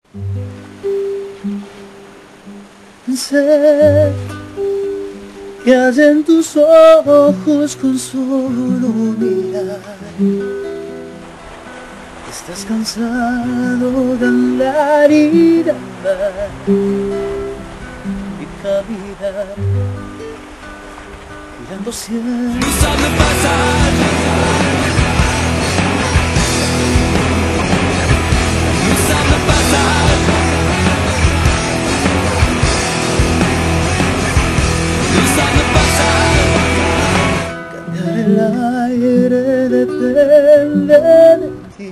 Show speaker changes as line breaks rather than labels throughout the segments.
Sé que hay en tus ojos con solo mirar. Estás cansado de andar y de andar y caminar mirando siempre.
Usando pasar, usando pasar, usando pasar.
Cambiar el aire depende de ti.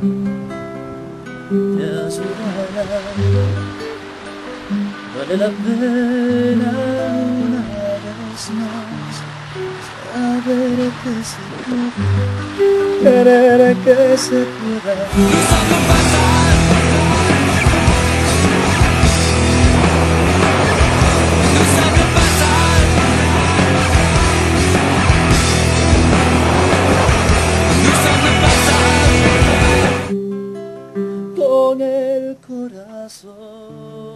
Te ayudará, vale la pena una vez más saber que se puede, querer que se pueda.
Usando pasar, usando pasar, usando pasar.
Con el corazón.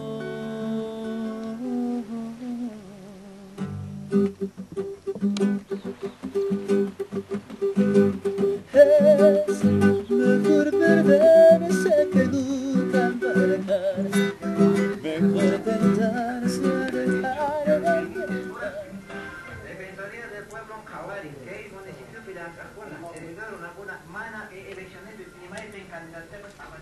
Es mejor perderse que nunca embarcar. Mejor tentarse a dejar de intentar.
Defensoría del Pueblo Jawari, que es municipio de Pirantacona, heredaron algunas manas elecciones de primaria en candidatura para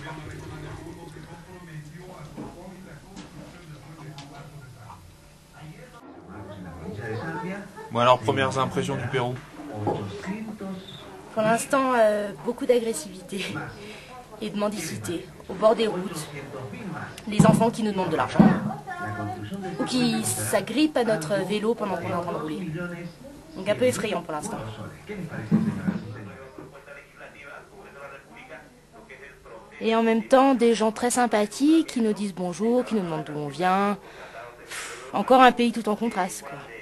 Bon alors, premières impressions du Pérou?
Pour l'instant, beaucoup d'agressivité et de mendicité au bord des routes. Les enfants qui nous demandent de l'argent ou qui s'agrippent à notre vélo pendant qu'on est en train de rouler. Donc un peu effrayant pour l'instant. Et en même temps, des gens très sympathiques qui nous disent bonjour, qui nous demandent d'où on vient. Encore un pays tout en contraste, quoi.